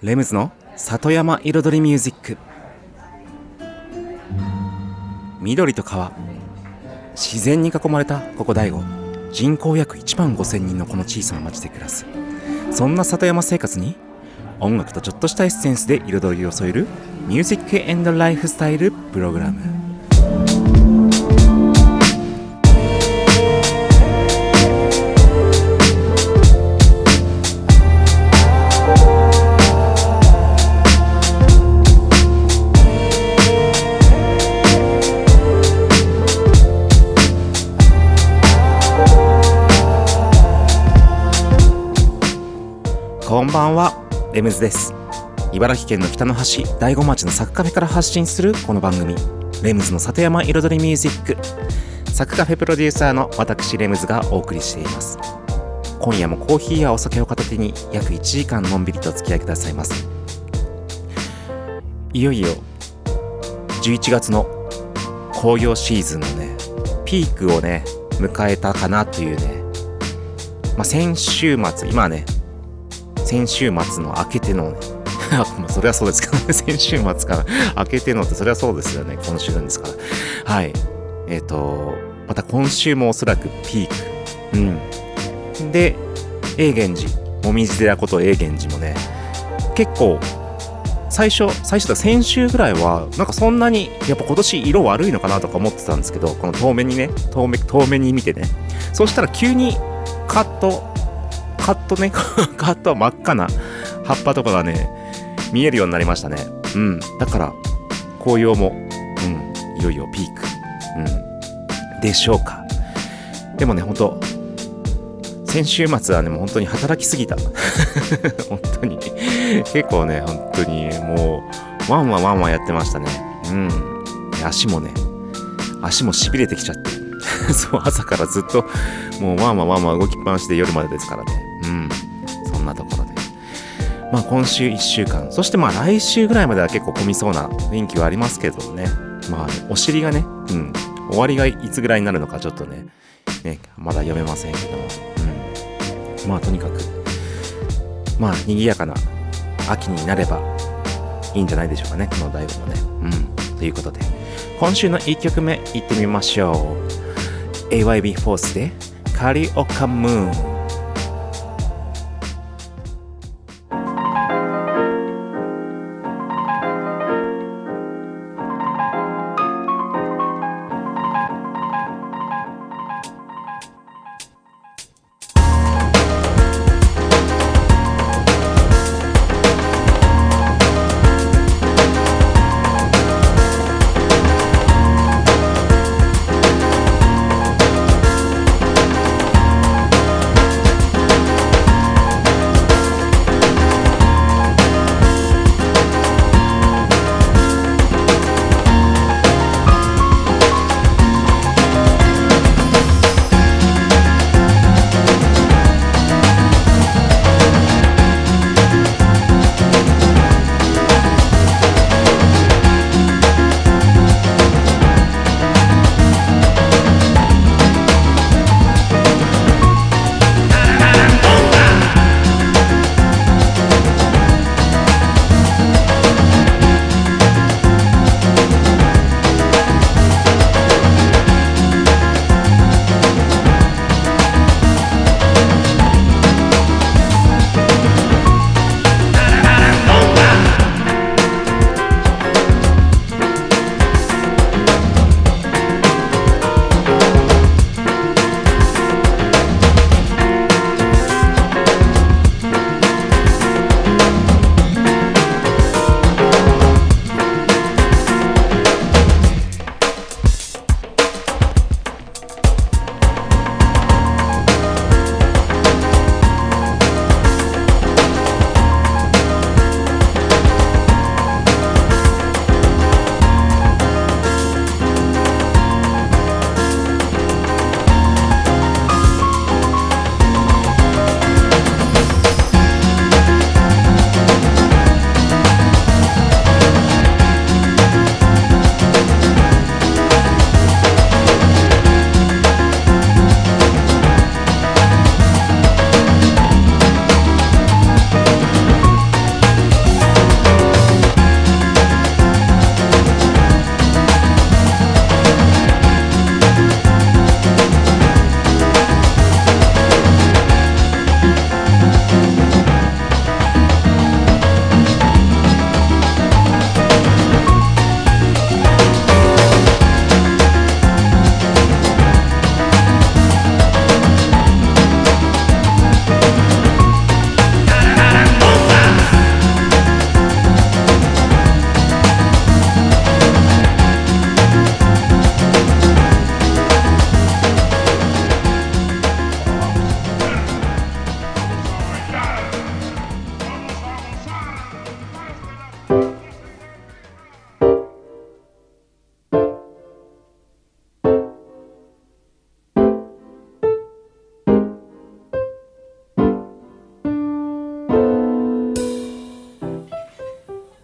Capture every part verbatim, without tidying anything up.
レムズの里山彩りミュージック。緑と川、自然に囲まれたここ大悟、人口約いちまんごせんにんのこの小さな町で暮らす。そんな里山生活に音楽とちょっとしたエッセンスで彩りを添えるミュージックエンドライフスタイルプログラム。こんばんは、レムズです。茨城県の北の端、大子町のサクカフェから発信するこの番組、レムズの里山彩りミュージック。サクカフェプロデューサーの私レムズがお送りしています。今夜もコーヒーやお酒を片手に約いちじかんのんびりとお付き合いくださいます。いよいよじゅういちがつの紅葉シーズンのねピークをね迎えたかなというね、まあ、先週末、今はね先週末の明けてのねそれはそうですけどね、先週末から明けてのってそれはそうですよね、今週なんですからはい。えっ、ー、とまた今週もおそらくピーク、うんで永源寺、もみじ寺こと永源寺もね結構最初最初だ先週ぐらいはなんかそんなにやっぱ今年色悪いのかなとか思ってたんですけど、この遠目にね遠目遠目に見てね、そしたら急にカットカットねカット真っ赤な葉っぱとかがね見えるようになりましたね。うん、だから紅葉も、うん、いよいよピーク、うん、でしょうか。でもね本当先週末はねもう本当に働きすぎた本当に結構ね本当にもうワンワンワンワンやってましたね。うん、足もね足もしびれてきちゃってそう朝からずっともうワンワンワンワン動きっぱなしで夜までですからね。うん、そんなところでまあ今週いっしゅうかん、そしてまあ来週ぐらいまでは結構混みそうな雰囲気はありますけどね。まあお尻がね、うん、終わりがいつぐらいになるのかちょっとねねまだ読めませんけども、うん、まあとにかくまあ賑やかな秋になればいいんじゃないでしょうかね、この大悟もね。うん、ということで今週のいっきょくめいってみましょう。 エーワイビー フォースでカリオカムーン。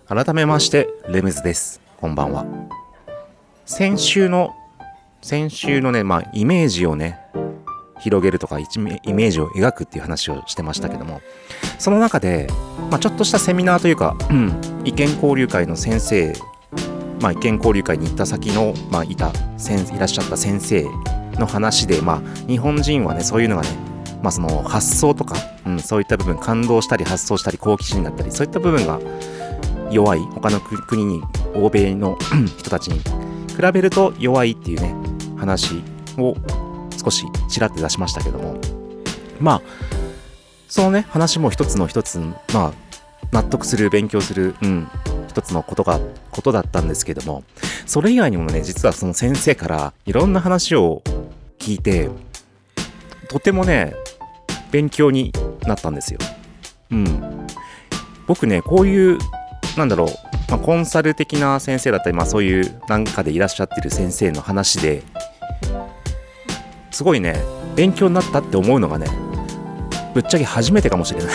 改めましてレムズです。こんばんは。先週の先週のね、まあイメージをね広げるとかイメージを描くっていう話をしてましたけども、その中で、まあ、ちょっとしたセミナーというか、うん、意見交流会の先生、まあ、意見交流会に行った先の、まあ、いたいらっしゃった先生の話で、まあ、日本人はねそういうのがね、まあ、その発想とか、うん、そういった部分、感動したり発想したり好奇心だったり、そういった部分が弱い、他の国に欧米の人たちに比べると弱いっていうね話を少しちらって出しましたけども、まあそのね話も一つの一つ、まあ納得する、勉強する、うん、一つのことがことだったんですけども、それ以外にもね実はその先生からいろんな話を聞いて、とてもね勉強になったんですよ。うん、僕ねこういうなんだろう、まあ、コンサル的な先生だったり、まあそういうなんかでいらっしゃってる先生の話ですごいね勉強になったって思うのがねぶっちゃけ初めてかもしれない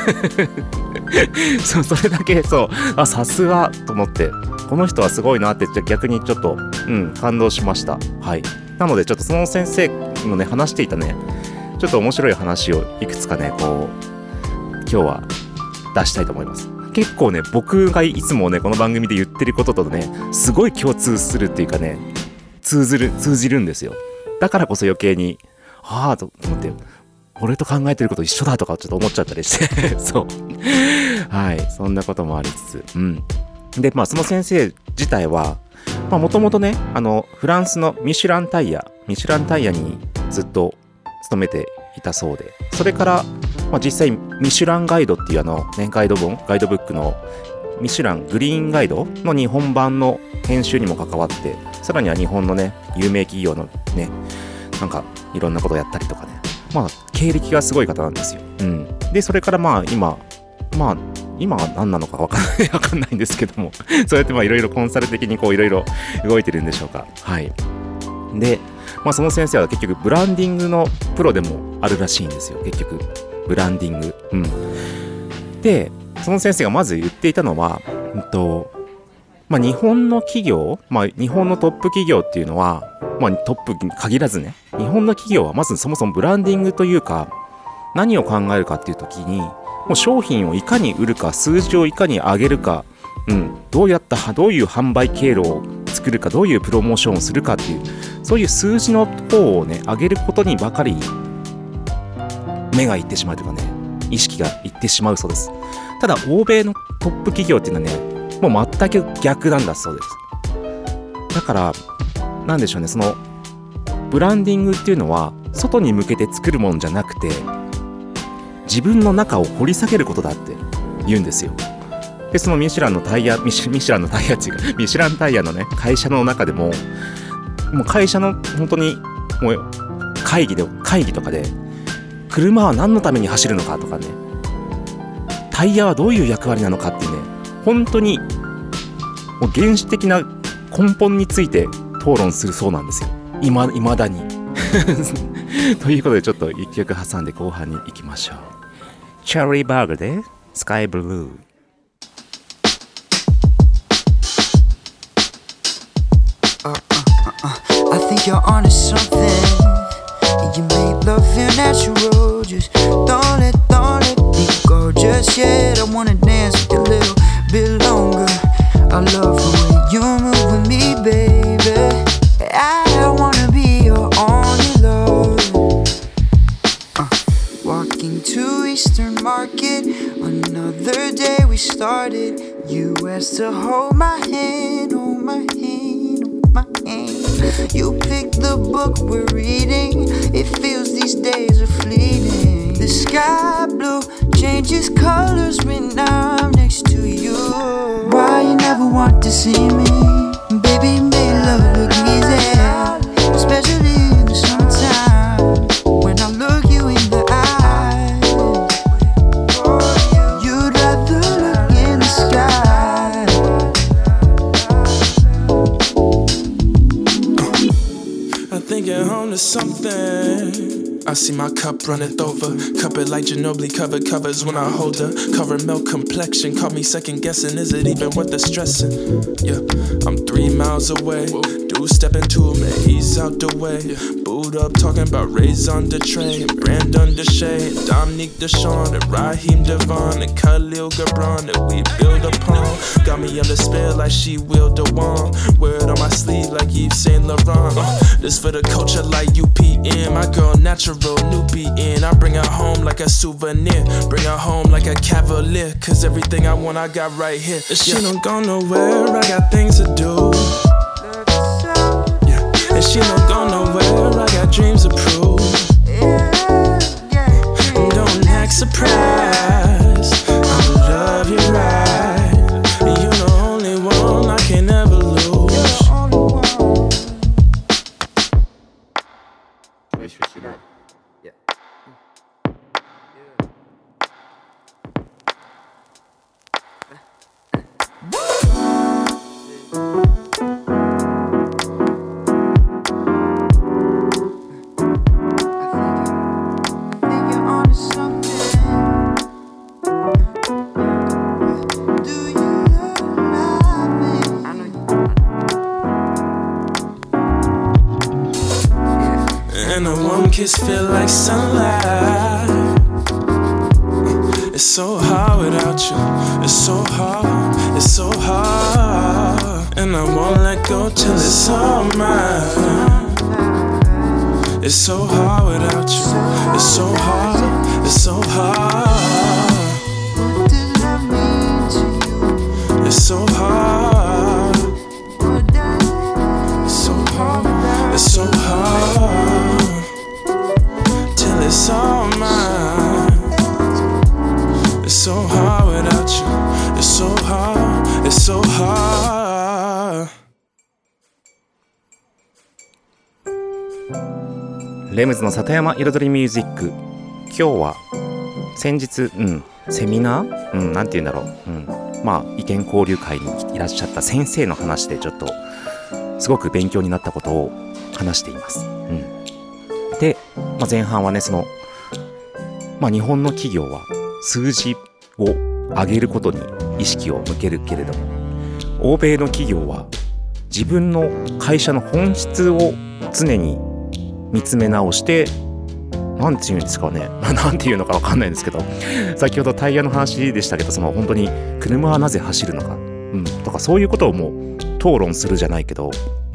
そうそれだけそうあさすがと思って、この人はすごいなって逆にちょっと、うん、感動しました。はい。なのでちょっとその先生のね話していたねちょっと面白い話をいくつかねこう今日は出したいと思います。結構ね僕がいつもねこの番組で言ってることとねすごい共通するっていうかね通ずる通じるんですよ。だからこそ余計にああと思って俺と考えてること一緒だとかちょっと思っちゃったりしてそうはい、そんなこともありつつ、うんでまあその先生自体はまあもともとねあのフランスのミシュランタイヤミシュランタイヤにずっと勤めていたそうで、それからまあ、実際ミシュランガイドっていうあの、ね、ガイド本ガイドブックのミシュラングリーンガイドの日本版の編集にも関わって、さらには日本のね有名企業のねなんかいろんなことをやったりとかね、まあ経歴がすごい方なんですよ。うん、でそれからまあ今まあ今は何なのか分かんない分かんないんですけどもそうやってまあいろいろコンサル的にこういろいろ動いてるんでしょうか。はい。でまあその先生は結局ブランディングのプロでもあるらしいんですよ。結局ブランディング、うん、でその先生がまず言っていたのは、うんとまあ、日本の企業、まあ、日本のトップ企業っていうのは、まあ、トップに限らずね日本の企業はまずそもそもブランディングというか何を考えるかっていう時にもう商品をいかに売るか数字をいかに上げるか、うん、どうやったどういう販売経路を作るかどういうプロモーションをするかっていうそういう数字の方をね上げることにばかり目がいってしまうというかね意識がいってしまうそうです。ただ欧米のトップ企業っていうのはねもう全く逆なんだそうです。だからなんでしょうね、そのブランディングっていうのは外に向けて作るもんじゃなくて自分の中を掘り下げることだって言うんですよ。でそのミシュランのタイヤミシュ、ミシュランのタイヤっていうかミシュランタイヤのね会社の中でももう会社の本当にもう会議で会議とかで車は何のために走るのかとかねタイヤはどういう役割なのかっていうね本当にもう原始的な根本について討論するそうなんですよ。いま、未だにということでちょっと一曲挟んで後半に行きましょう。チェリーバーグでスカイブルー。 Uh, uh, uh, uh. I think you're onto something. You made love feel natural. Just don't let, don't let me go just yet. I wanna dance with you a little bit longer. I love the way you move with me, baby. I wanna be your only love. uh, Walking to Eastern Market. Another day we started. You asked to hold my hand, hold my hand, hold my hand. You picked the book we're reading. It feels these days are fleeting. The sky blue changes colors when I'm next to you. Why you never want to see me? Baby, make love look easy, especially in the summertime. When I look you in the eye, you'd rather look in the sky. I think you're home to something. Uh, I see my cup runneth over. Cup it like Ginobili covered covers when I hold her. Caramel complexion, caught me second guessing. Is it even worth the stressing? Yeah, I'm three miles away. Dude step into him and he's out the way. Boot up talking about raison de tray, Brandon Deshay, Dominique Deshawn, and Raheem Devon, and Khalil Gibran that we build upon. Got me on the spell like she willed the wand. Wear it on my sleeve like Yves Saint Laurent. Uh, this for the culture like U P M. My girl natural, new B N. I bring her home like a souvenir. Bring her home like a cavalier. Cause everything I want I got right here. If she don't go nowhere, I got things to do. Yeah. And she don't go nowhere, I got dreams to prove. Don't act surprised, I'ma love you right. You're the only one I can ever lose. And a warm kiss feel like sunlight. It's so hard without you. It's so hard, it's so hard. And I won't let go till it's all mine. It's so hard without you. It's so hard, it's so hard. What does that mean to you? It's so hard. What does It's so hard, it's so hard. Till it's all mine. It's so hard without you. It's so hard, it's so hard. レムズの里山彩りミュージック。今日は先日、うん、セミナー、うん、なんて言うんだろう、うん、まあ意見交流会にいらっしゃった先生の話でちょっとすごく勉強になったことを話しています。うん、で、まあ、前半はね、その、まあ、日本の企業は数字を上げることに意識を向けるけれども、欧米の企業は自分の会社の本質を常に見つめ直して、なんていうんですかね、なんていうのかわかんないんですけど、先ほどタイヤの話でしたけど、その本当に車はなぜ走るのか、うん、とかそういうことをもう討論するじゃないけど、うん、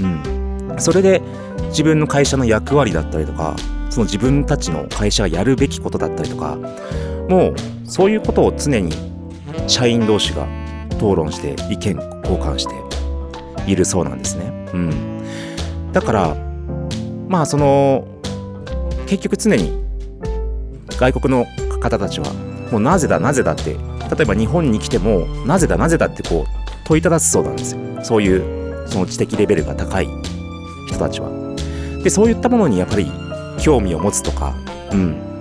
それで自分の会社の役割だったりとか、その自分たちの会社がやるべきことだったりとか、もうそういうことを常に社員同士が討論して意見交換しているそうなんですね。うん、だからまあその結局常に外国の方たちはもうなぜだなぜだって、例えば日本に来てもなぜだなぜだってこう問いただすそうなんですよ。そういうその知的レベルが高い人たちは。でそういったものにやっぱり興味を持つとか、うん、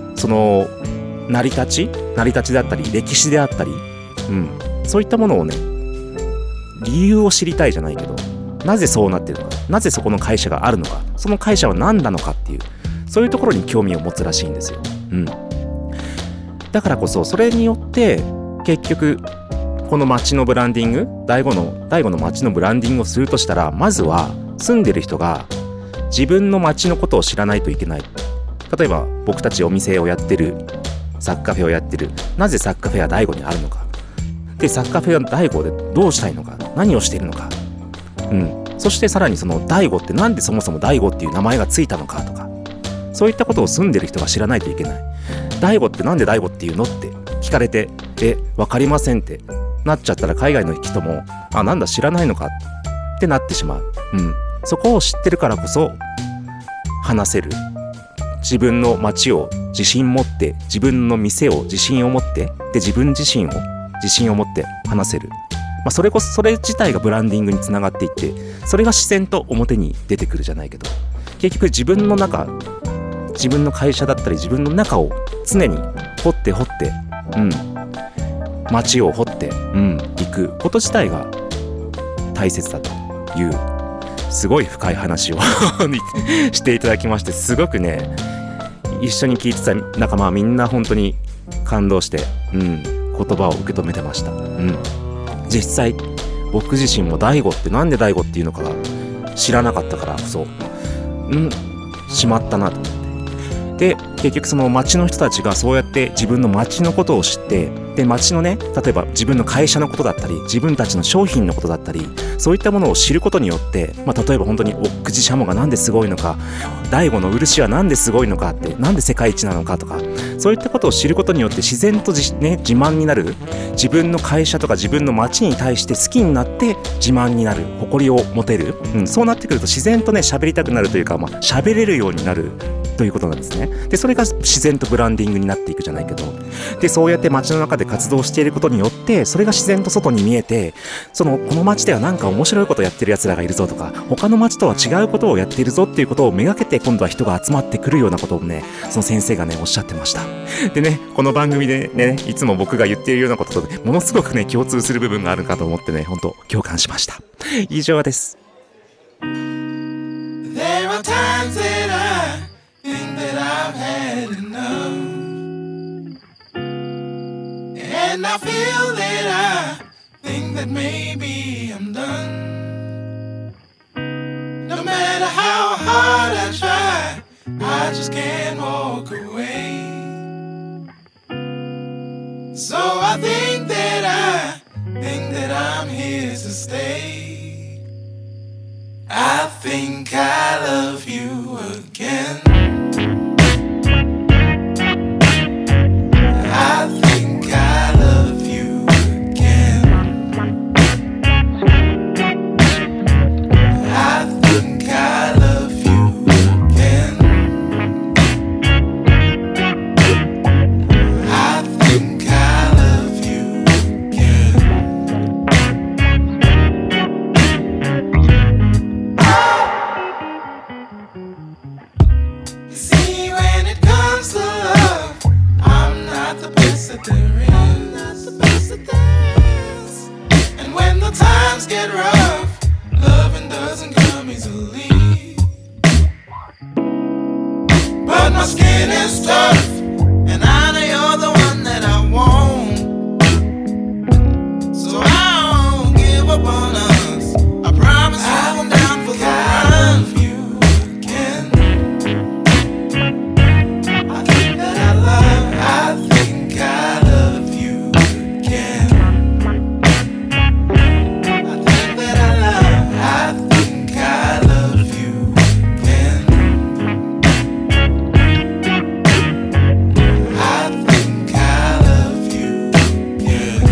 その成り立ち成り立ちだったり歴史であったり、うん、そういったものをね、理由を知りたいじゃないけど、なぜそうなってるのか、なぜそこの会社があるのか、その会社は何なのかっていう、そういうところに興味を持つらしいんですよ。うん、だからこそそれによって結局この街のブランディング、第五の第五の街のブランディングをするとしたら、まずは住んでる人が自分の街のことを知らないといけない。例えば僕たちお店をやってる、サッカーフェをやってる、なぜサッカーフェは第五にあるのか、でサッカーフェは第五でどうしたいのか、何をしているのか、うん、そしてさらにその第五ってなんでそもそも第五っていう名前がついたのかとか、そういったことを住んでる人が知らないといけない。第五ってなんで第五っていうのって聞かれて、え、わかりませんってなっちゃったら、海外の人もあ、なんだ知らないのかってなってしまう。うん、そこを知ってるからこそ話せる。自分の街を自信持って、自分の店を自信を持って、で自分自身を自信を持って話せる。まあ、それこそそれ自体がブランディングにつながっていって、それが自然と表に出てくるじゃないけど、結局自分の中、自分の会社だったり自分の中を常に掘って掘って、うん、街を掘って、うん、行くこと自体が大切だというすごい深い話をしていただきまして、すごくね一緒に聞いてた仲間はみんな本当に感動して、うん、言葉を受け止めてました。うん、実際僕自身も大悟ってなんで大悟っていうのか知らなかったからこそ、うんしまったなと思って、で結局その町の人たちがそうやって自分の町のことを知って、で町のね、例えば自分の会社のことだったり自分たちの商品のことだったり、そういったものを知ることによって、まあ、例えば本当にお口しゃもがなんですごいのか、大悟の漆はなんですごいのかって、なんで世界一なのかとか、そういったことを知ることによって自然とじ、ね、自慢になる、自分の会社とか自分の町に対して好きになって自慢になる、誇りを持てる、うん、そうなってくると自然とね喋りたくなるというか、まあ、喋れるようになるということなんですね。でそれが自然とブランディングになっていくじゃないけど、でそうやって街の中で活動していることによってそれが自然と外に見えて、そのこの街ではなんか面白いことをやってる奴らがいるぞとか、他の街とは違うことをやっているぞっていうことをめがけて今度は人が集まってくるようなことをね、その先生がねおっしゃってました。でね、この番組でねいつも僕が言っているようなことと、ね、ものすごくね共通する部分があるかと思ってね、本当共感しました。以上です。 There are times that I think that I've had enough, and I feel that I think that maybe I'm done. No matter how hard I try, I just can't walk away. So I think that I think that I'm here to stay. I think I love you again. I think I love you again. I think I love you again. I think I love you again. You see, when it comes to love, I'm not the best that there is. I'm not the best that there is. And when the times get rough, loving doesn't come easily. But my skin is tough, and I know you're the one that I want. So I won't give up on us. I promise I'm down for the run for you again. I think that I love, I think I love you again. I think that I love, I think I love you again. I think I love you again.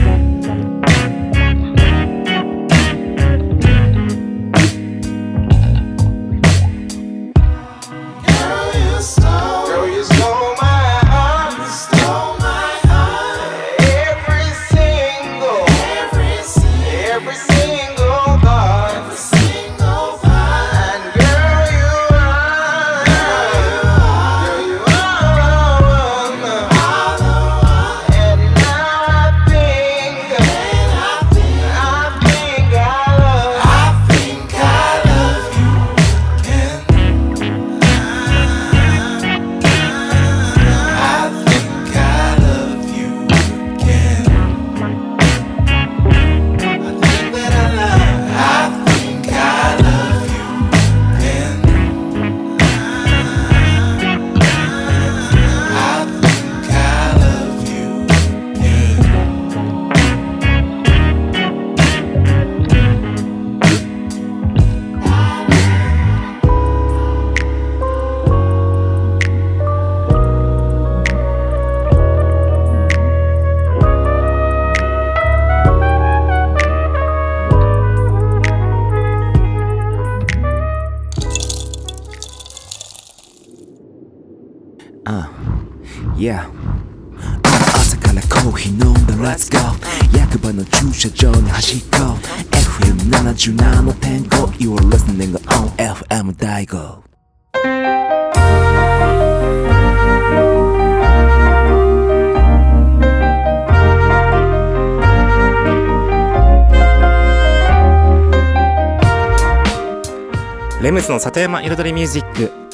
Girl, you stole, girl, you stole my heart. You stole my heart. Every single, every single, every single part, every single part. And girl, you are, girl, you are all the one. And now I think, and I think, I think I love, I think I love you again. I think I love you again. I think that I love, I think I love you again. I think I love you again. Uh, yeah. 朝からコーヒー飲んだ Let's go 役場の駐車場に走っこう エフエムななじゅうななてんご You are listening on エフエム 大悟。 レムズの里山彩りミュージック、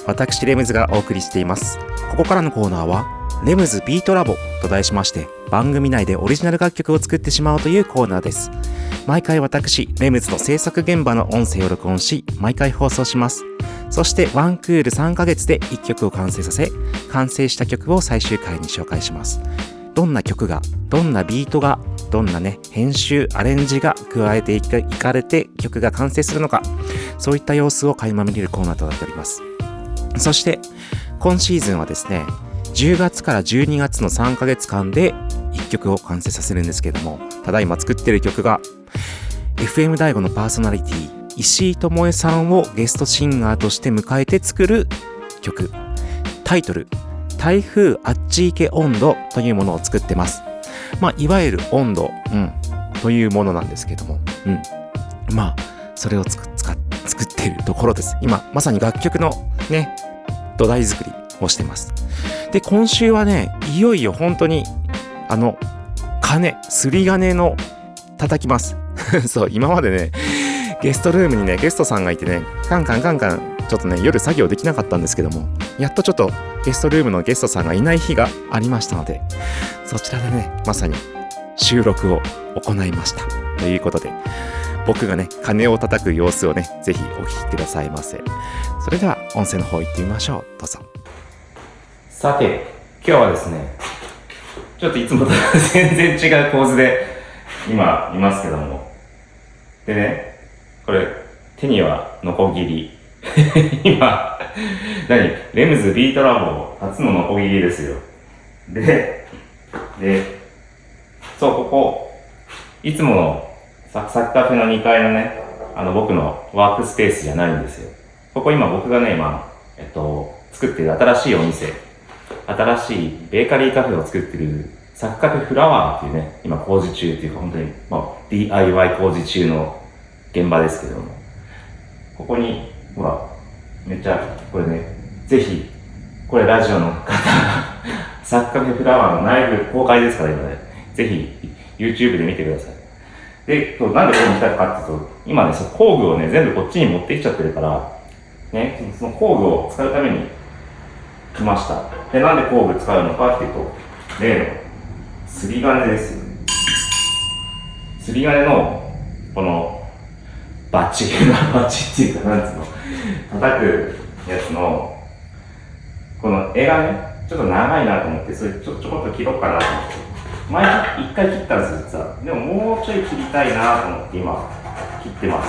私レムズがお送りしています。ここからのコーナーはレムズビートラボと題しまして、番組内でオリジナル楽曲を作ってしまおうというコーナーです。毎回私レムズの制作現場の音声を録音し、毎回放送します。そしてワンクールさんかげつでいっきょくを完成させ、完成した曲を最終回に紹介します。どんな曲が、どんなビートが、どんなね編集アレンジが加えていかれて曲が完成するのか、そういった様子を垣間見れるコーナーとなっております。そして今シーズンはですね、じゅうがつからじゅうにがつのさんかげつかんでいっきょくを完成させるんですけれども、ただいま作っている曲が エフエム 大悟のパーソナリティ石井智恵さんをゲストシンガーとして迎えて作る曲、タイトル台風あっち行け温度というものを作ってます。まあいわゆる温度、うん、というものなんですけども、うん、まあそれをつく使っ作っているところです。今まさに楽曲のね土台作りをしてます。で今週はね、いよいよ本当にあの鐘すり金の叩きますそう、今までねゲストルームにねゲストさんがいてね、カンカンカンカンちょっとね夜作業できなかったんですけども、やっとちょっとゲストルームのゲストさんがいない日がありましたので、そちらでねまさに収録を行いましたということで、僕がね鐘を叩く様子をねぜひお聞きくださいませ。それでは音声の方行ってみましょう。どうぞ。さて今日はですね、ちょっといつもと全然違う構図で今いますけども、でねこれ手にはノコギリ今何レムズビートラボ初のノコギリですよ。ででそう、ここいつものサクサクカフェのにかいのね、あの僕のワークスペースじゃないんですよ。ここ今僕がね今えっと作ってる新しいお店、新しいベーカリーカフェを作ってるサクカフェフラワーっていうね、今工事中っていうか本当に、まあ、ディーアイワイ 工事中の現場ですけども、ここにほらめっちゃこれね、ぜひこれラジオの方サクカフェフラワーの内部公開ですから今ね、ぜひ YouTube で見てください。で、なんでここに来たかっていうと、今ねその工具をね全部こっちに持ってきちゃってるからね、その工具を使うために来ました。で、なんで工具使うのかっていうと、例のすり金ですよね。すり金のこのバチバチっていうかなんつうの叩くやつのこの絵がねちょっと長いなと思って、それちょちょこっと切ろうかなと思って、前一回切ったんですよ実は。でももうちょい切りたいなと思って今切ってます。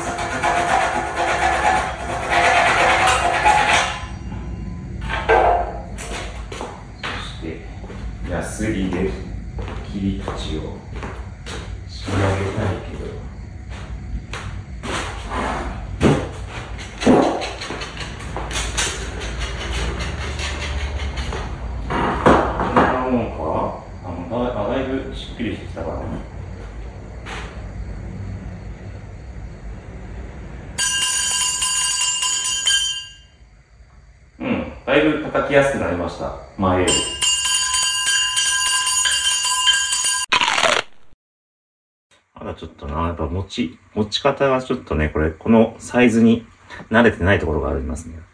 ヤスリで切り口を仕上げたいけど、こんなもんか。あの だ, だいぶしっくりしてきたからね。うん、だいぶ叩きやすくなりました前より。まだちょっとな、やっぱ持ち、持ち方がちょっとね、これ、このサイズに慣れてないところがありますね。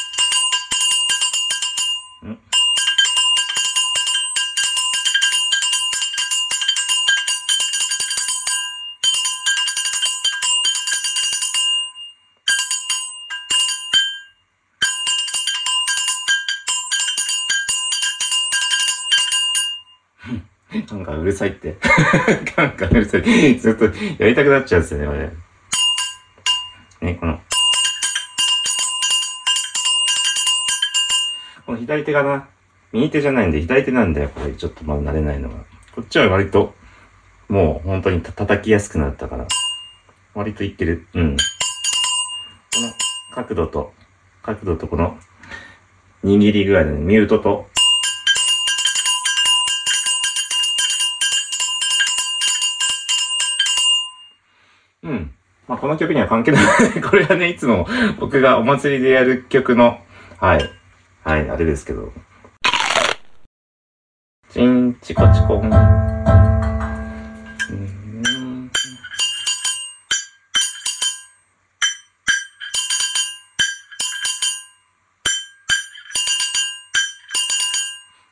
んなんかうるさいって。なんかうるさい。ずっとやりたくなっちゃうんですよね、これ。ね、この。この左手がな、右手じゃないんで左手なんだよ、これ。ちょっとまだ慣れないのが。こっちは割と、もう本当にた叩きやすくなったから。割といってる。うん。この角度と、角度とこの、握り具合でね、ミュートと、うん。まあ、この曲には関係ない。これはね、いつも僕がお祭りでやる曲の、はい。はい、あれですけど。チン、チコチコン。うん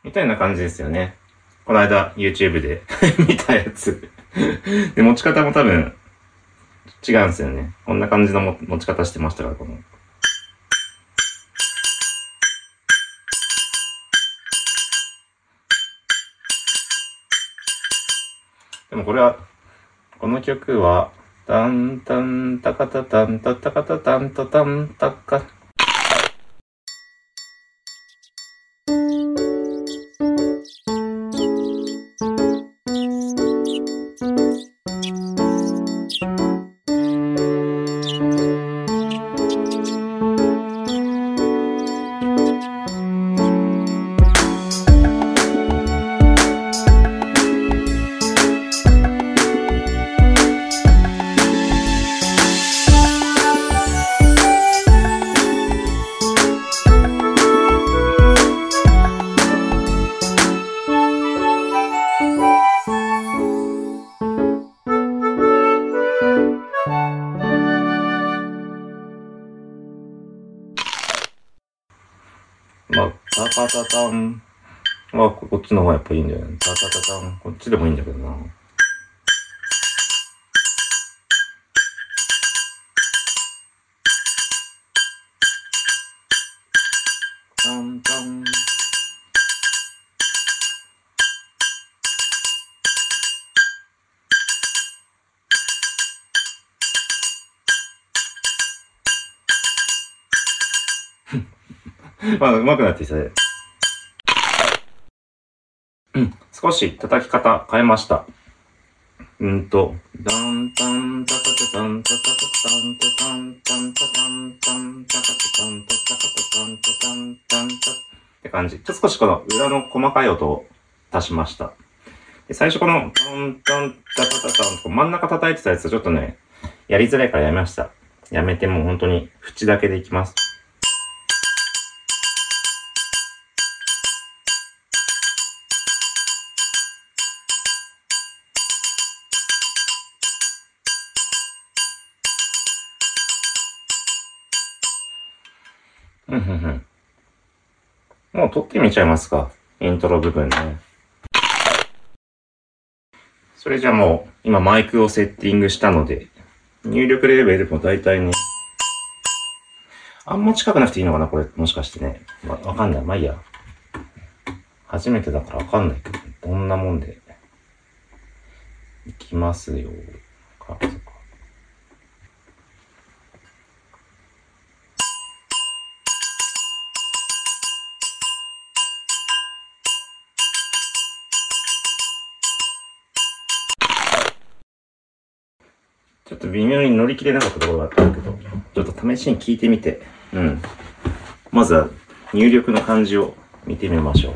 みたいな感じですよね。この間 YouTube で見たやつで、持ち方も多分違うんですよね。こんな感じの持ち方してましたから、この。でもこれは、この曲は、タンタンタカタタンタタカタタンタタンタカ。まあ、タタタタン。まあ、こっちの方がやっぱいいんだよね。タタタタン。こっちでもいいんだけどな。タンタン。まあ、上手くなってきたね。うん。少し叩き方変えました。うんと、ダンタンタタタタンタタタタンタタンタンタタンタンタタタタンタタタタンタタンタンタって感じ。ちょっと少しこの裏の細かい音を足しました。で最初このタンタンタタタタンと真ん中叩いてたやつちょっとね、やりづらいからやめました。やめてもう本当に縁だけでいきます。うんうんうん。もう撮ってみちゃいますか。イントロ部分ね。それじゃあもう、今マイクをセッティングしたので、入力レベルも大体ね、あんま近くなくていいのかなこれ、もしかしてね。わ、わかんない。まあいいや。初めてだからわかんないけど、どんなもんで。いきますよ。か、そっか。ちょっと微妙に乗り切れなかったところがあったんだけど、ちょっと試しに聞いてみて、うん。まずは入力の感じを見てみましょう。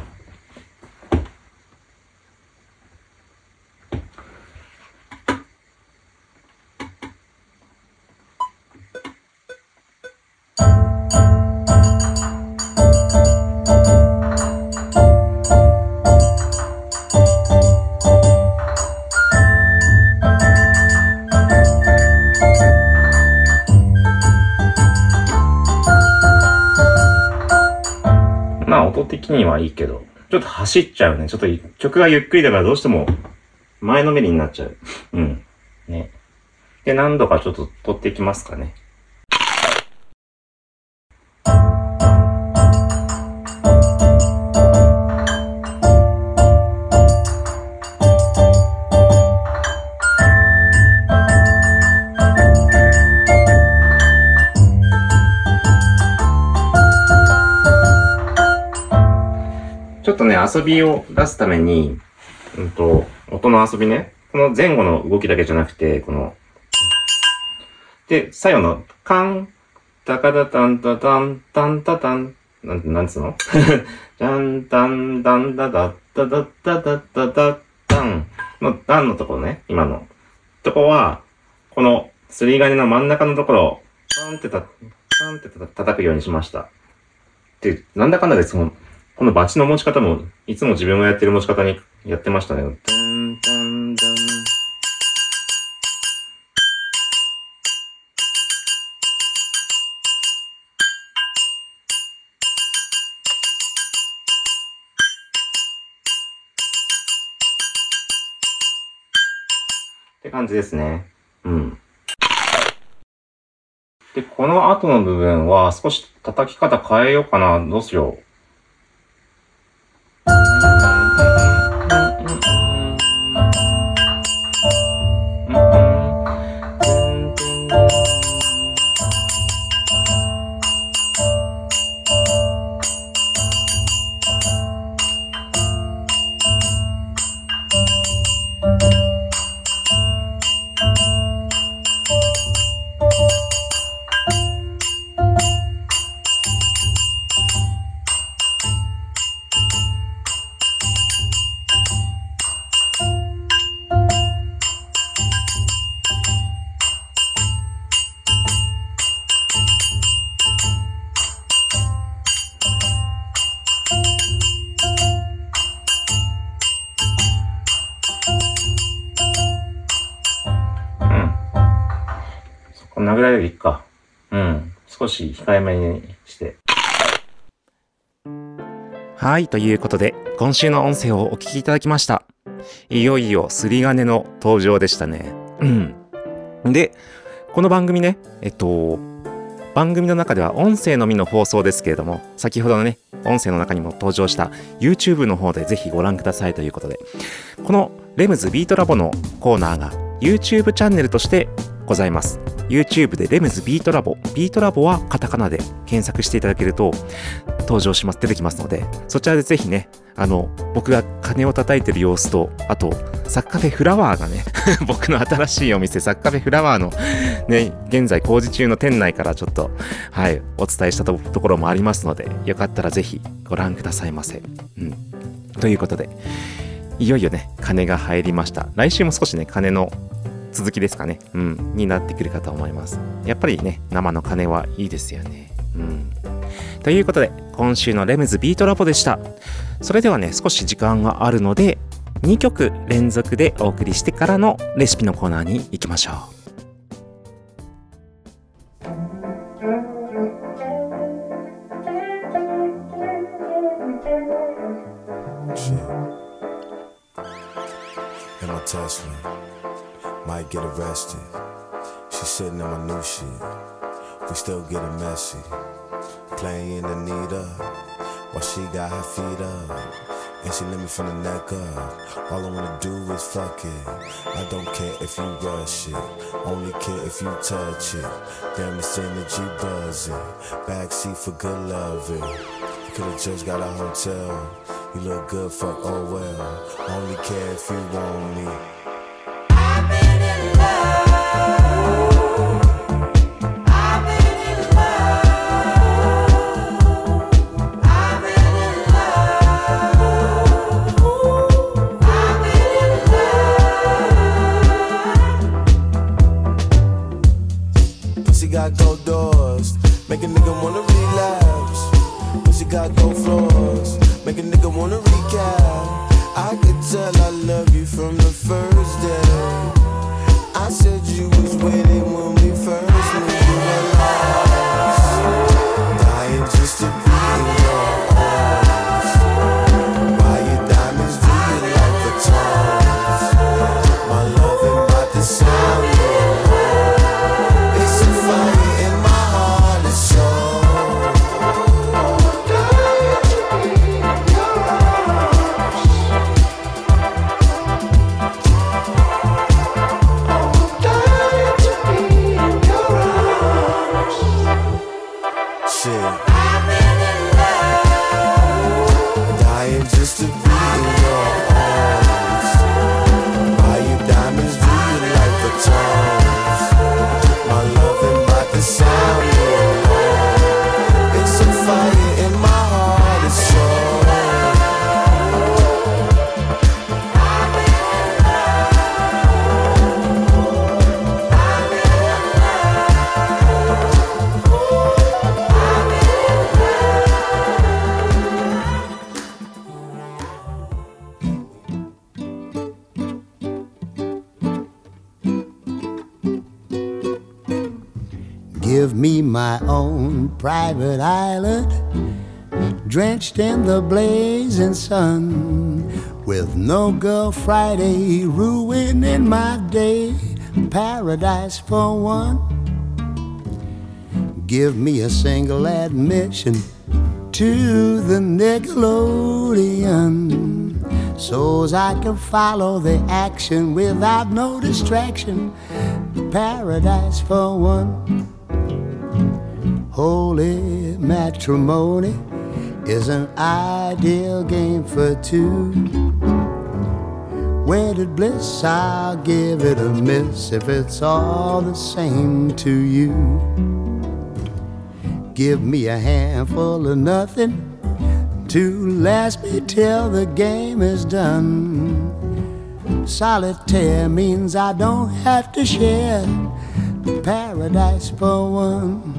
まあ音的にはいいけど、ちょっと走っちゃうね。ちょっと曲がゆっくりだからどうしても前のめりになっちゃう。うん。ね。で、何度かちょっと取っていきますかね。ちょっとね、遊びを出すために、うんと、音の遊びね。この前後の動きだけじゃなくて、この、で、最後の、カン、タカタタンタタン、タンタタン、なん、なんつうのジャンタンダンダダッダダッダダッダダッダンのダンのところね、今の。とこは、この、すり金の真ん中のところを、パンってた、パンってた叩くようにしました。で、なんだかんだでその、このバチの持ち方も、いつも自分がやってる持ち方にやってましたね。ダンダンダン。 感じですね。うん。で、この後の部分は少し叩き方変えようかな。どうしよう。こんなぐらいでいいか。うん。少し控えめにして。はい、ということで、今週の音声をお聞きいただきました。いよいよすり金の登場でしたね。うん。で、この番組ね、えっと、番組の中では音声のみの放送ですけれども、先ほどのね、音声の中にも登場した YouTube の方でぜひご覧くださいということで、このレムズビートラボのコーナーが YouTube チャンネルとしてございます。YouTube でレムズビートラボ、ビートラボはカタカナで検索していただけると登場します、出てきますので、そちらでぜひね、あの、僕が鐘を叩いてる様子と、あと、サッカフェフラワーがね、僕の新しいお店、サッカフェフラワーのね、現在工事中の店内からちょっと、はい、お伝えしたところもありますので、よかったらぜひご覧くださいませ。うん。ということで、いよいよね、鐘が入りました。来週も少しね、鐘の続きですかね、うん、になってくるかと思います。やっぱりね、生の鐘はいいですよね。うん。ということで、今週のレムズビートラボでした。それではね、少し時間があるので、にきょく連続でお送りしてからのレシピのコーナーに行きましょう。 Might get arrested. She's sitting on my new shit. We still getting messy. Playing Anita while she got her feet up. And she let me from the neck up. All I wanna do is fuck it. I don't care if you rush it. Only care if you touch it. Damn, it's energy buzzing. Backseat for good loving. You could've just got a hotel. You look good, fuck, oh well. Only care if you want me. Got gold doors, make a nigga wanna relapse. Pussy got gold floors, make a nigga wanna recap. I could tell I love you from the first day. I said you was waiting when we first met. You were lost, dying just to be in your arms. Buy your diamonds, do you like the tongues? My love ain't about to sound your It's a fire in my heart and soul. Shit. I'm in love. Dying just to be in your arms. Buy you diamonds, do you like the tongues? My love ain't about to sound your alarm. It's a fire in my heart and soul. I'm in Give me my own private island, drenched in the blazing sun, With no girl Friday ruining my day, paradise for one. Give me a single admission to the Nickelodeon, so's I can follow the action without no distraction. Paradise for one. Holy matrimony is an ideal game for two. Wedded bliss, I'll give it a miss if it's all the same to you. Give me a handful of nothing to last me till the game is done. Solitaire means I don't have to share paradise for one.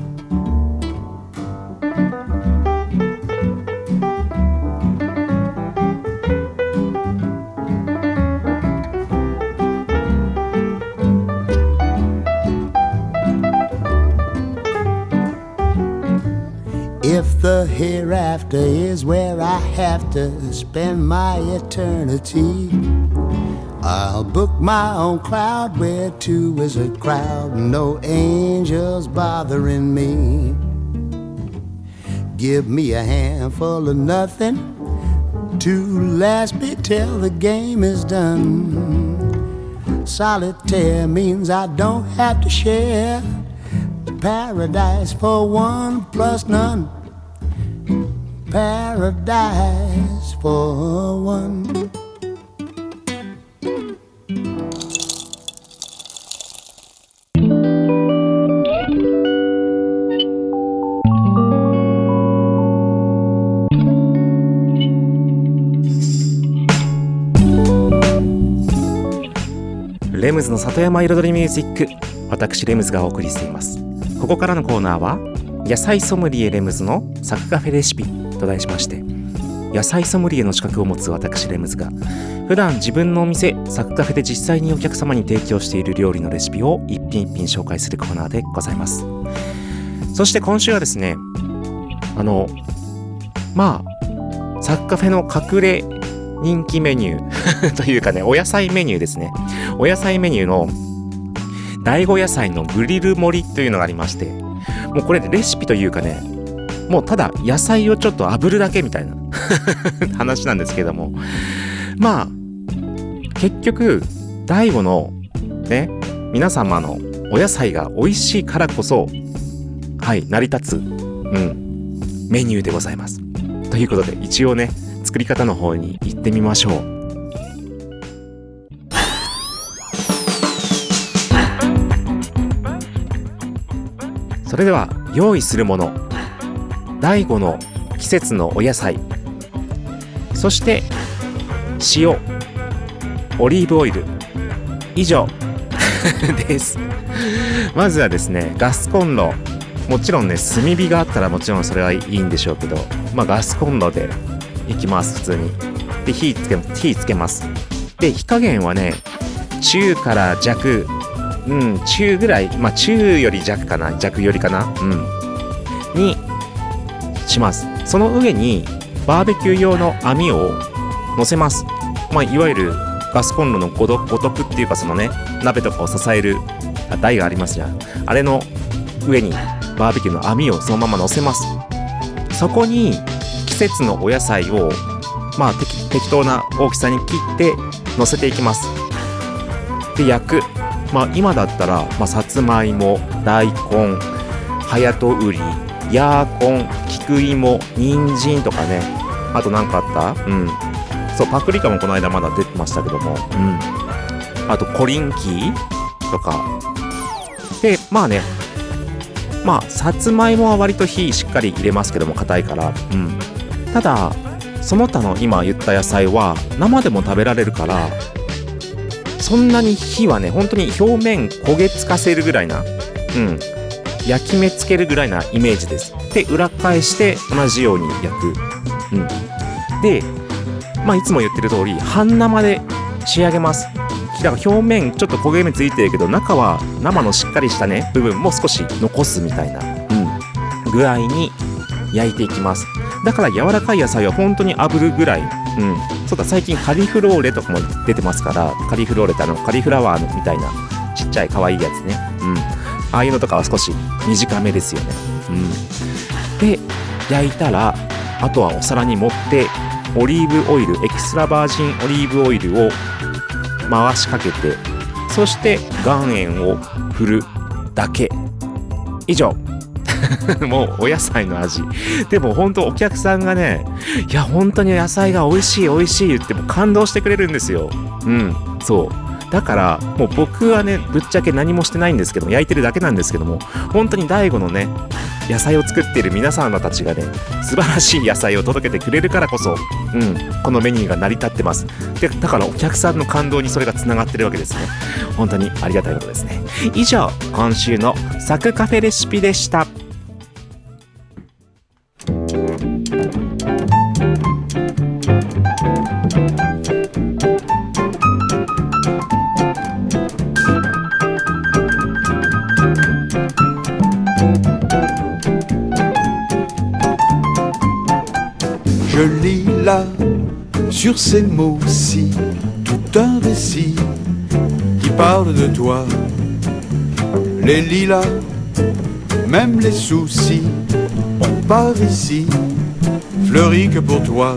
If the hereafter is where I have to spend my eternity, I'll book my own cloud where two is a crowd, no angels bothering me. Give me a handful of nothing to last me till the game is done. Solitaire means I don't have to share paradise for one plus none. Paradise for one. レムズの里山彩りミュージック、私レムズがお送りしています。ここからのコーナーは野菜ソムリエレムズのサクカフェレシピと題しまして、野菜ソムリエの資格を持つ私レムズが普段自分のお店サクカフェで実際にお客様に提供している料理のレシピを一品一品紹介するコーナーでございます。そして今週はですね、あのまあサクカフェの隠れ人気メニューというかね、お野菜メニューですね。お野菜メニューの第五野菜のグリル盛りというのがありまして、もうこれレシピというかね、もうただ野菜をちょっと炙るだけみたいな話なんですけども、まあ結局第五のね、皆様のお野菜が美味しいからこそはい成り立つ、うん、メニューでございます。ということで一応ね、作り方の方に行ってみましょう。それでは用意するもの、第五の季節のお野菜、そして塩、オリーブオイル、以上です。まずはですね、ガスコンロ、もちろんね炭火があったらもちろんそれはいいんでしょうけど、まあガスコンロでいきます。普通にで火つけ火つけます。で火加減はね、中から弱、うん、中ぐらい、まあ中より弱かな、弱よりかな、うん、にします。その上にバーベキュー用の網を乗せます。まあいわゆるガスコンロのごとくっていうか、そのね、鍋とかを支える台がありますじゃん。あれの上にバーベキューの網をそのまま乗せます。そこに季節のお野菜をまあ適, 適当な大きさに切って乗せていきます。で焼く。まあ今だったら、まあ、さつまいも、大根、はやとうり、ヤーコン、菊芋、人参とかね、あと何かあった？うん。そう、パプリカもこの間まだ出てましたけども、うん。あとコリンキーとか。で、まあね、まあさつまいもは割と火しっかり入れますけども、硬いから。うん。ただその他の今言った野菜は生でも食べられるから、そんなに火はね、本当に表面焦げつかせるぐらいな、うん、焼き目つけるぐらいなイメージです。で裏返して同じように焼く、うん、でまあいつも言ってる通り半生で仕上げます。だから表面ちょっと焦げ目ついてるけど、中は生のしっかりしたね部分も少し残すみたいな、うん、具合に焼いていきます。 だから柔らかい野菜は本当に炙るぐらい、うん、そうだ、最近カリフローレとかも出てますから、カリフローレってあのカリフラワーのみたいなちっちゃい可愛いやつね、うん、ああいうのとかは少し短めですよね、うん、で焼いたらあとはお皿に盛ってオリーブオイル、エキストラバージンオリーブオイルを回しかけて、そして岩塩を振るだけ。以上もうお野菜の味。でも本当お客さんがね、いや本当に野菜が美味しい美味しい言っても感動してくれるんですよ。うん、そうだからもう僕はね、ぶっちゃけ何もしてないんですけども、焼いてるだけなんですけども、本当に大悟のね野菜を作っている皆さんたちがね、素晴らしい野菜を届けてくれるからこそ、うん、このメニューが成り立ってます。でだからお客さんの感動にそれがつながってるわけですね。本当にありがたいことですね。以上、今週のサクカフェレシピでした。 Je lis là, sur ces mots-ci, tout un récit qui parle de toi. Les lilas, même les soucis, on part ici, fleuris que pour toi.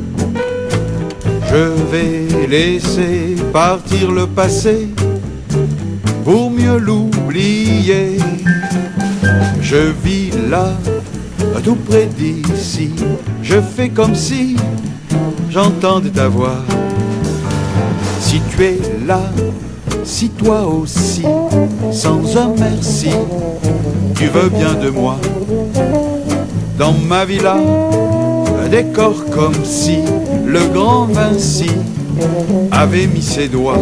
Je vais laisser partir le passé pour mieux l'oublier. Je vis là, tout près d'ici, je fais comme si j'entendais ta voix. Si tu es là, si toi aussi, sans un merci, tu veux bien de moi. Dans ma villa, un décor comme si le grand Vinci avait mis ses doigts.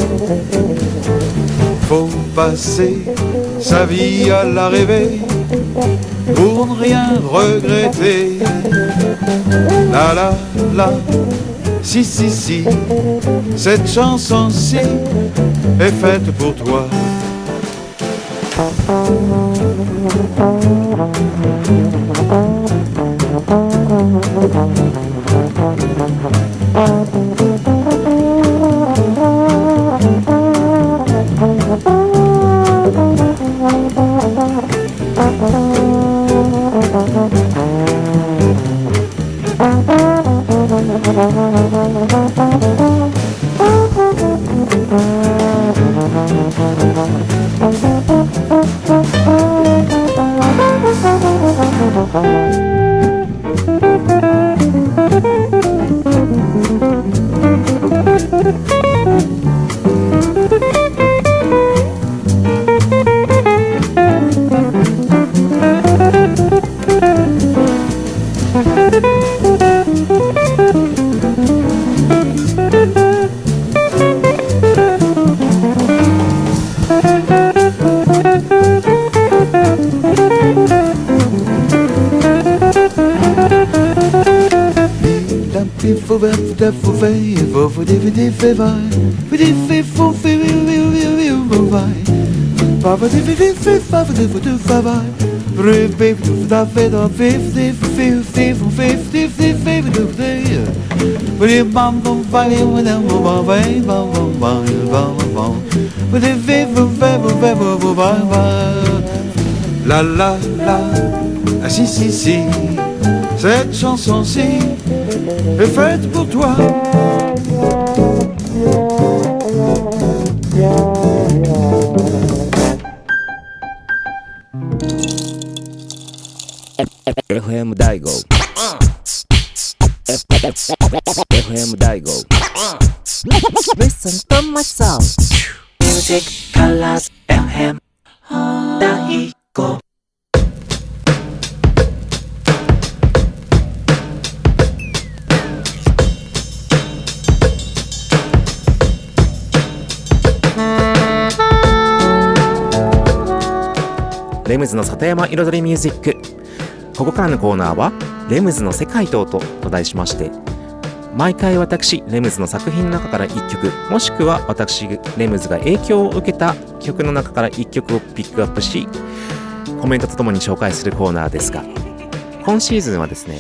Faut passer sa vie à la rêver pour ne rien regretter. La la la, si si si, cette chanson-ci est faite pour toi. La la la, ah si si si, cette chanson-ci est faite pour toi. エフエム 大悟 エフエム 大悟 Listen to my song Music Colors エフエム 大悟レムズの里山彩りミュージック。ここからのコーナーはレムズの世界と音と題しまして、毎回私レムズの作品の中からいっきょく、もしくは私レムズが影響を受けた曲の中からいっきょくをピックアップし、コメントとともに紹介するコーナーですが、今シーズンはですね、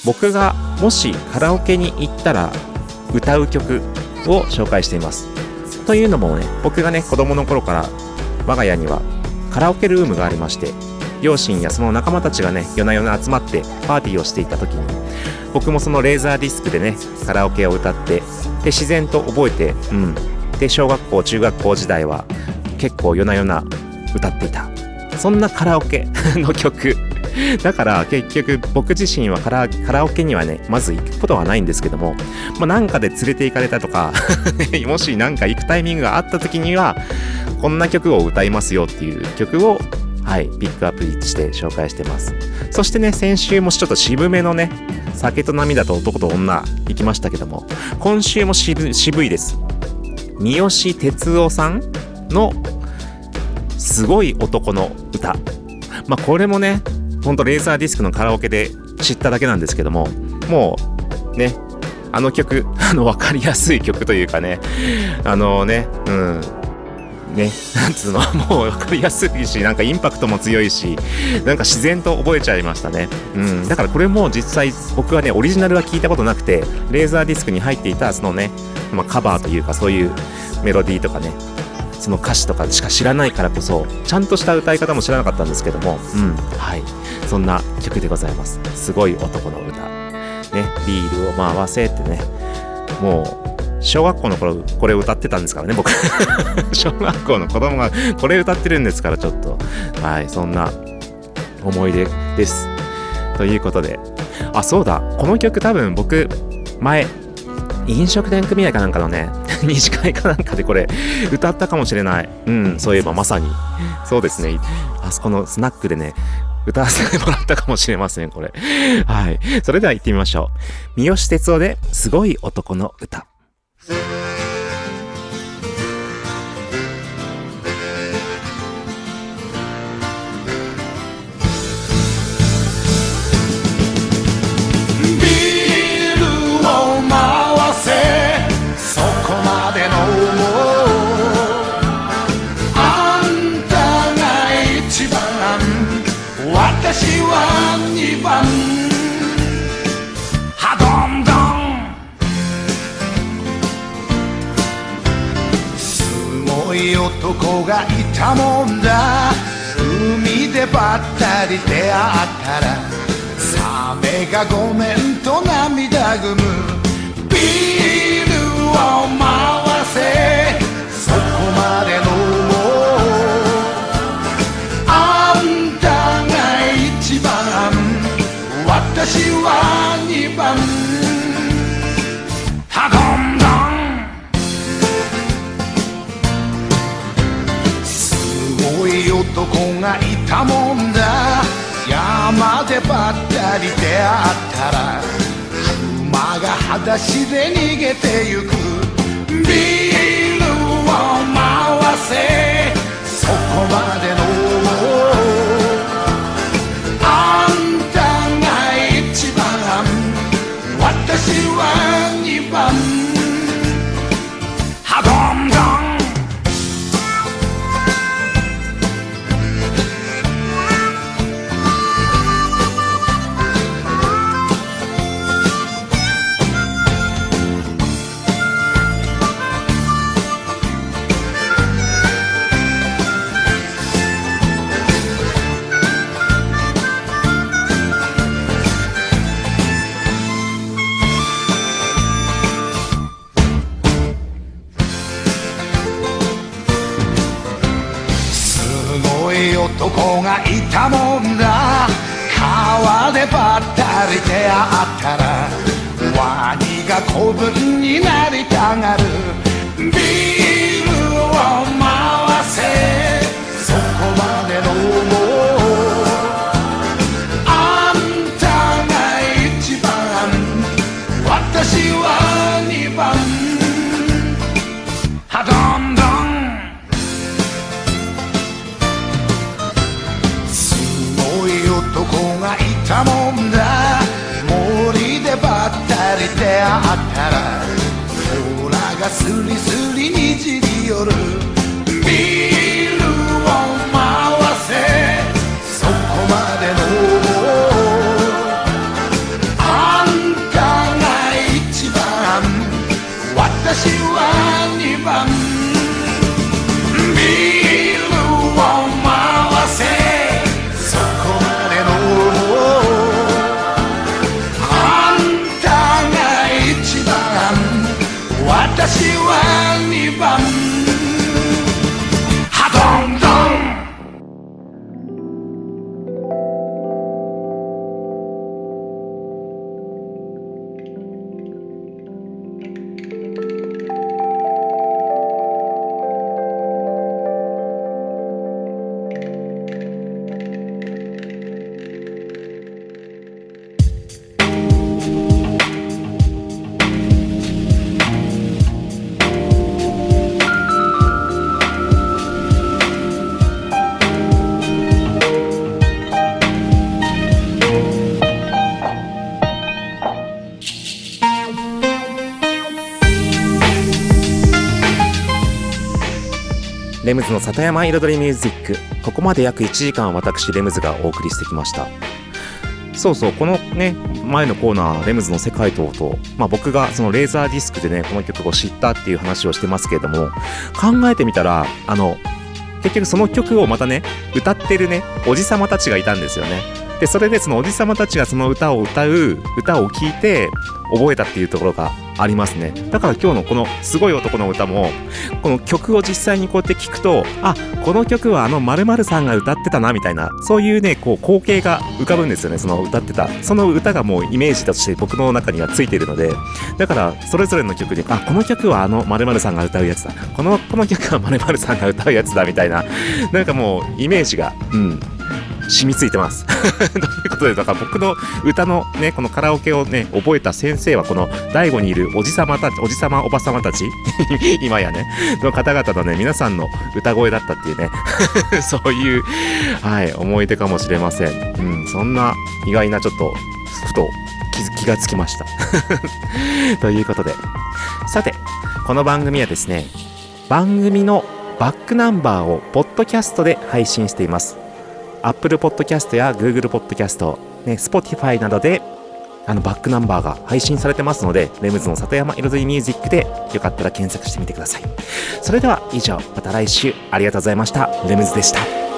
僕がもしカラオケに行ったら歌う曲を紹介しています。というのもね、僕がね子供の頃から我が家にはカラオケルームがありまして、両親やその仲間たちがね夜な夜な集まってパーティーをしていた時に、僕もそのレーザーディスクでねカラオケを歌って、で自然と覚えて、うんで小学校中学校時代は結構夜な夜な歌っていた、そんなカラオケの曲だから結局僕自身はカラ、カラオケにはねまず行くことはないんですけども、まあ、なんかで連れて行かれたとかもしなんか行くタイミングがあった時にはこんな曲を歌いますよっていう曲をはいピックアップして紹介してます。そしてね、先週もちょっと渋めのね酒と涙と男と女行きましたけども、今週も渋、渋いです。三好哲夫さんのすごい男の歌、まあこれもねほんとレーザーディスクのカラオケで知っただけなんですけども、もうねあの曲、あの分かりやすい曲というかね、あのねうんね、なんつうの、もう分かりやすいし、なんかインパクトも強いし、なんか自然と覚えちゃいましたね。うん、だからこれも実際僕はねオリジナルは聞いたことなくて、レーザーディスクに入っていたそのね、まあ、カバーというかそういうメロディーとかね、その歌詞とかしか知らないからこそちゃんとした歌い方も知らなかったんですけども、うんはい、そんな曲でございます。すごい男の歌ね、ビールを回せってね、もう小学校の頃これ歌ってたんですからね僕小学校の子供がこれ歌ってるんですから、ちょっとはいそんな思い出ですということで、あそうだ、この曲多分僕前飲食店組合かなんかのね二次会かなんかでこれ歌ったかもしれない。うんそういえばまさにそうですね、あそこのスナックでね歌わせてもらったかもしれませんこれ。はい、それでは行ってみましょう。三好哲夫ですごい男の歌。 私はにばんハドンドン、すごい男がいたもんだ。海でばったり出会ったらサメがごめんと涙ぐむ。ビールを回せそこまで飲もう、私はにばんハドンドン、すごい男がいたもんだ。山でばったり出会ったら熊が裸足で逃げてゆく。ビールを回せそこまで飲もう、私はにばんハドンドン、男がいたもんだ。川でばったり出会ったらワニが子分になりたがる。ビールを回せそこまで飲もう、あんたが一番私は二番ハドンドン、男がいたもんだ。森でばったり出会ったら甲羅がスリスリにじり寄る。ビールを回せそこまで飲もう、あレムズの里山彩りミュージック、ここまで約いちじかん私レムズがお送りしてきました。そうそう、このね前のコーナーレムズの世界と音、まあ、僕がそのレーザーディスクでねこの曲を知ったっていう話をしてますけれども、考えてみたらあの結局その曲をまたね歌ってるねおじさまたちがいたんですよね。でそれでそのおじさまたちがその歌を歌う歌を聴いて覚えたっていうところがありますね。だから今日のこのすごい男の歌もこの曲を実際にこうやって聞くと、あ、この曲はあの〇〇さんが歌ってたなみたいな、そういうねこう光景が浮かぶんですよね。その歌ってたその歌がもうイメージとして僕の中にはついているので、だからそれぞれの曲で、あ、この曲はあの〇〇さんが歌うやつだ、このこの曲は〇〇さんが歌うやつだみたいな、なんかもうイメージがうん染みついてますということで、だから僕の歌のねこのカラオケをね覚えた先生はこの大悟にいるおじさまたち、おじさまおばさまたち今やねの方々のね皆さんの歌声だったっていうねそういうはい思い出かもしれません。うん、そんな意外なちょっとふと 気, 気がつきましたということで、さてこの番組はですね番組のバックナンバーをポッドキャストで配信しています。Apple Podcast や Google Podcast、ね、Spotify などであのバックナンバーが配信されてますので、レムズの里山彩りミュージックでよかったら検索してみてください。それでは以上、また来週ありがとうございました。レムズでした。